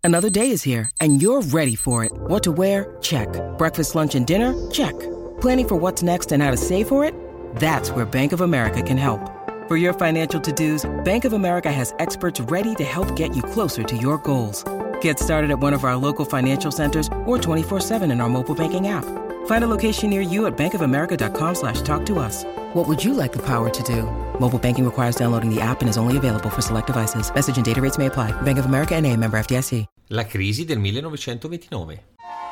Another day is here, and you're ready for it. What to wear? Check. Breakfast, lunch, and dinner? Check. Planning for what's next and how to save for it? That's where Bank of America can help. For your financial to-dos, Bank of America has experts ready to help get you closer to your goals. Get started at one of our local financial centers or 24/7 in our mobile banking app. Find a location near you at bankofamerica.com/talktous. What would you like the power to do? Mobile banking requires downloading the app and is only available for select devices. Message and data rates may apply. Bank of America N.A., member FDIC. La crisi del 1929.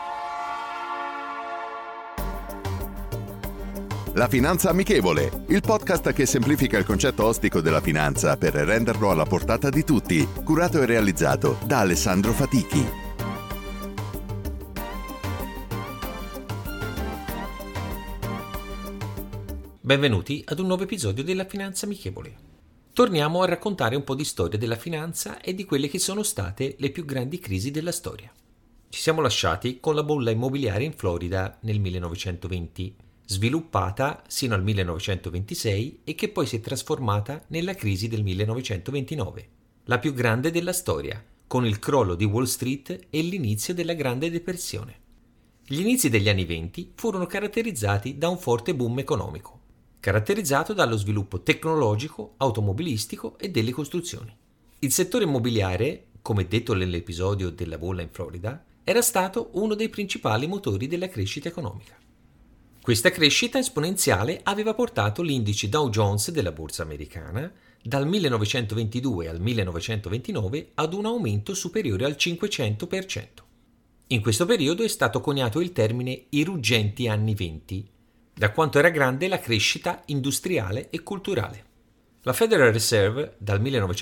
La Finanza Amichevole, il podcast che semplifica il concetto ostico della finanza per renderlo alla portata di tutti, curato e realizzato da Alessandro Fatichi. Benvenuti ad un nuovo episodio della Finanza Amichevole. Torniamo a raccontare un po' di storia della finanza e di quelle che sono state le più grandi crisi della storia. Ci siamo lasciati con la bolla immobiliare in Florida nel 1920, sviluppata sino al 1926 e che poi si è trasformata nella crisi del 1929, la più grande della storia, con il crollo di Wall Street e l'inizio della Grande Depressione. Gli inizi degli anni 20 furono caratterizzati da un forte boom economico, caratterizzato dallo sviluppo tecnologico, automobilistico e delle costruzioni. Il settore immobiliare, come detto nell'episodio della bolla in Florida, era stato uno dei principali motori della crescita economica. Questa crescita esponenziale aveva portato l'indice Dow Jones della borsa americana dal 1922 al 1929 ad un aumento superiore al 500%. In questo periodo è stato coniato il termine i ruggenti anni 20, da quanto era grande la crescita industriale e culturale. La Federal Reserve, dal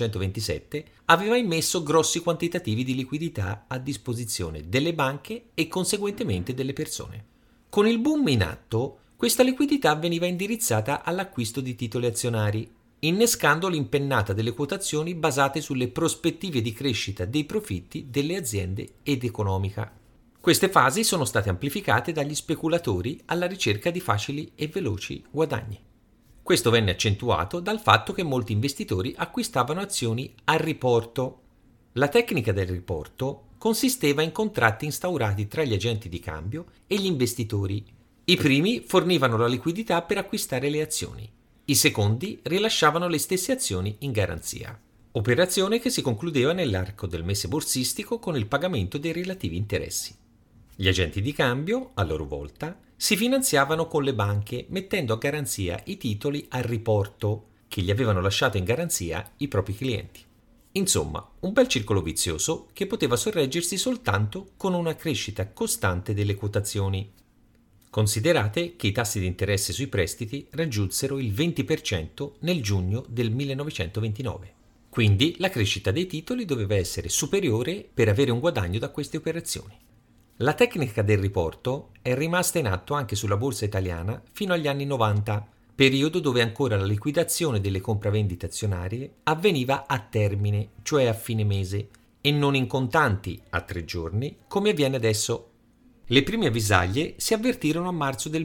1927, aveva immesso grossi quantitativi di liquidità a disposizione delle banche e conseguentemente delle persone. Con il boom in atto, questa liquidità veniva indirizzata all'acquisto di titoli azionari, innescando l'impennata delle quotazioni basate sulle prospettive di crescita dei profitti delle aziende ed economica. Queste fasi sono state amplificate dagli speculatori alla ricerca di facili e veloci guadagni. Questo venne accentuato dal fatto che molti investitori acquistavano azioni a riporto. La tecnica del riporto consisteva in contratti instaurati tra gli agenti di cambio e gli investitori. I primi fornivano la liquidità per acquistare le azioni, i secondi rilasciavano le stesse azioni in garanzia. Operazione che si concludeva nell'arco del mese borsistico con il pagamento dei relativi interessi. Gli agenti di cambio, a loro volta, si finanziavano con le banche mettendo a garanzia i titoli a riporto che gli avevano lasciato in garanzia i propri clienti. Insomma, un bel circolo vizioso che poteva sorreggersi soltanto con una crescita costante delle quotazioni. Considerate che i tassi di interesse sui prestiti raggiunsero il 20% nel giugno del 1929. Quindi la crescita dei titoli doveva essere superiore per avere un guadagno da queste operazioni. La tecnica del riporto è rimasta in atto anche sulla borsa italiana fino agli anni 90, periodo dove ancora la liquidazione delle compravendite azionarie avveniva a termine, cioè a fine mese, e non in contanti a 3 giorni, come avviene adesso. Le prime avvisaglie si avvertirono a marzo del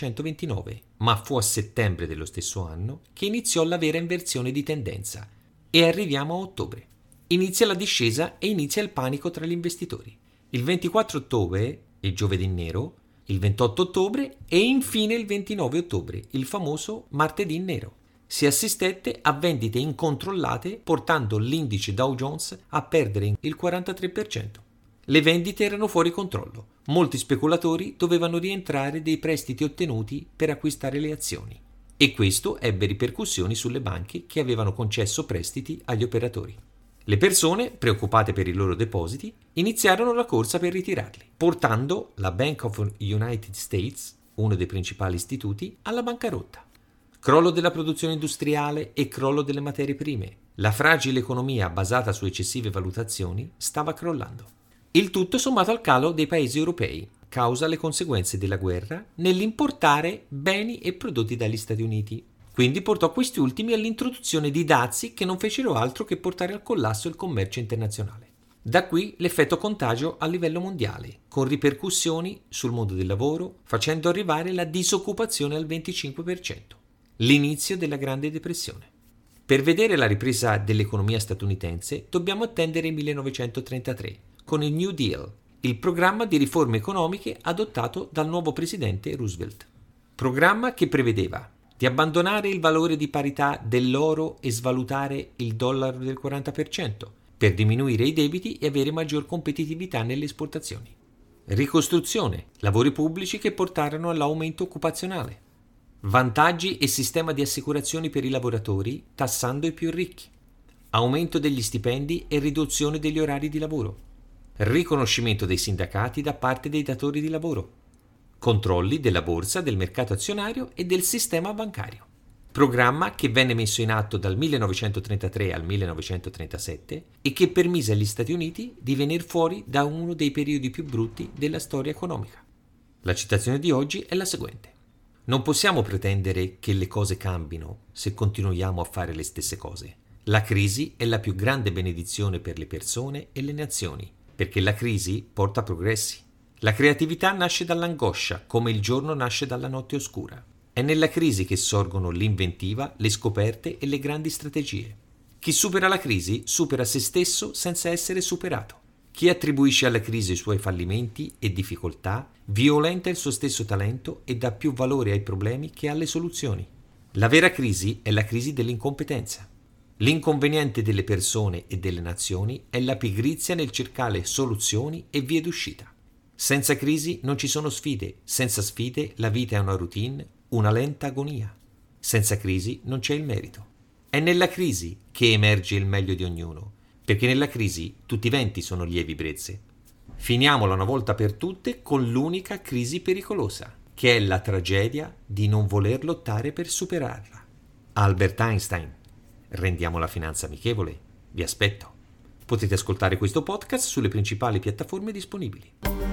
1929, ma fu a settembre dello stesso anno che iniziò la vera inversione di tendenza, e arriviamo a ottobre. Inizia la discesa e inizia il panico tra gli investitori. Il 24 ottobre, il giovedì nero, il 28 ottobre e infine il 29 ottobre, il famoso martedì nero. Si assistette a vendite incontrollate portando l'indice Dow Jones a perdere il 43%. Le vendite erano fuori controllo. Molti speculatori dovevano rientrare dei prestiti ottenuti per acquistare le azioni. E questo ebbe ripercussioni sulle banche che avevano concesso prestiti agli operatori. Le persone, preoccupate per i loro depositi, iniziarono la corsa per ritirarli, portando la Bank of United States, uno dei principali istituti, alla bancarotta. Crollo della produzione industriale e crollo delle materie prime. La fragile economia basata su eccessive valutazioni stava crollando. Il tutto sommato al calo dei paesi europei, causa le conseguenze della guerra nell'importare beni e prodotti dagli Stati Uniti. Quindi portò questi ultimi all'introduzione di dazi che non fecero altro che portare al collasso il commercio internazionale. Da qui l'effetto contagio a livello mondiale, con ripercussioni sul mondo del lavoro, facendo arrivare la disoccupazione al 25%. L'inizio della Grande Depressione. Per vedere la ripresa dell'economia statunitense dobbiamo attendere il 1933, con il New Deal, il programma di riforme economiche adottato dal nuovo presidente Roosevelt. Programma che prevedeva di abbandonare il valore di parità dell'oro e svalutare il dollaro del 40% per diminuire i debiti e avere maggior competitività nelle esportazioni. Ricostruzione, lavori pubblici che portarono all'aumento occupazionale. Vantaggi e sistema di assicurazioni per i lavoratori tassando i più ricchi. Aumento degli stipendi e riduzione degli orari di lavoro. Riconoscimento dei sindacati da parte dei datori di lavoro. Controlli della borsa, del mercato azionario e del sistema bancario. Programma che venne messo in atto dal 1933 al 1937 e che permise agli Stati Uniti di venire fuori da uno dei periodi più brutti della storia economica. La citazione di oggi è la seguente. Non possiamo pretendere che le cose cambino se continuiamo a fare le stesse cose. La crisi è la più grande benedizione per le persone e le nazioni, perché la crisi porta progressi. La creatività nasce dall'angoscia, come il giorno nasce dalla notte oscura. È nella crisi che sorgono l'inventiva, le scoperte e le grandi strategie. Chi supera la crisi supera se stesso senza essere superato. Chi attribuisce alla crisi i suoi fallimenti e difficoltà violenta il suo stesso talento e dà più valore ai problemi che alle soluzioni. La vera crisi è la crisi dell'incompetenza. L'inconveniente delle persone e delle nazioni è la pigrizia nel cercare soluzioni e vie d'uscita. Senza crisi non ci sono sfide, senza sfide la vita è una routine, una lenta agonia. Senza crisi non c'è il merito. È nella crisi che emerge il meglio di ognuno, perché nella crisi tutti i venti sono lievi brezze. Finiamola una volta per tutte con l'unica crisi pericolosa, che è la tragedia di non voler lottare per superarla. Albert Einstein. Rendiamo la finanza amichevole. Vi aspetto. Potete ascoltare questo podcast sulle principali piattaforme disponibili.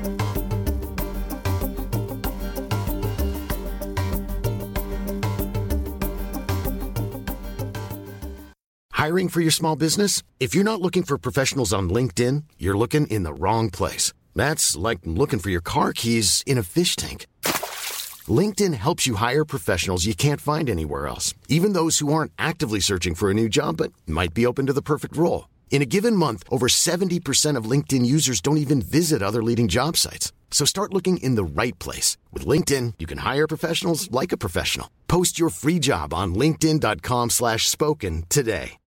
Hiring for your small business? If you're not looking for professionals on LinkedIn, you're looking in the wrong place. That's like looking for your car keys in a fish tank. LinkedIn helps you hire professionals you can't find anywhere else, even those who aren't actively searching for a new job but might be open to the perfect role. In a given month, over 70% of LinkedIn users don't even visit other leading job sites. So start looking in the right place. With LinkedIn, you can hire professionals like a professional. Post your free job on linkedin.com/spoken today.